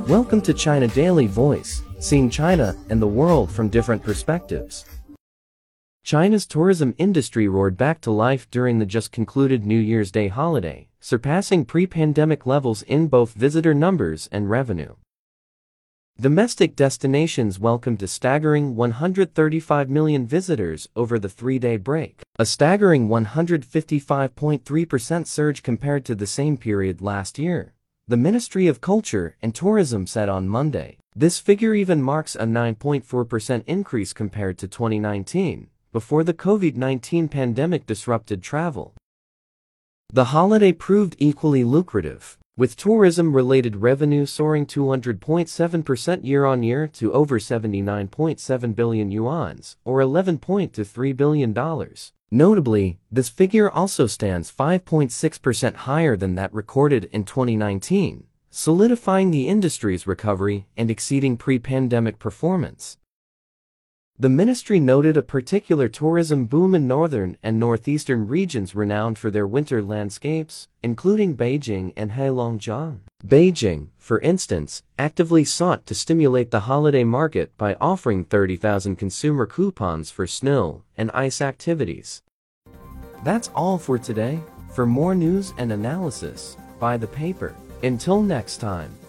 Welcome to China Daily Voice, seeing China and the world from different perspectives. China's tourism industry roared back to life during the just concluded New Year's Day holiday, surpassing pre-pandemic levels in both visitor numbers and revenue. Domestic destinations welcomed a staggering 135 million visitors over the three-day break, a staggering 155.3% surge compared to the same period last year, the Ministry of Culture and Tourism said on Monday. This figure even marks a 9.4% increase compared to 2019, before the COVID-19 pandemic disrupted travel. The holiday proved equally lucrative, with tourism-related revenue soaring 200.7% year-on-year to over 79.7 billion yuan, or $11.3 billion. Notably, this figure also stands 5.6% higher than that recorded in 2019, solidifying the industry's recovery and exceeding pre-pandemic performance. The ministry noted a particular tourism boom in northern and northeastern regions renowned for their winter landscapes, including Beijing and Heilongjiang. Beijing, for instance, actively sought to stimulate the holiday market by offering 30,000 consumer coupons for snow and ice activities. That's all for today. For more news and analysis, buy the paper. Until next time.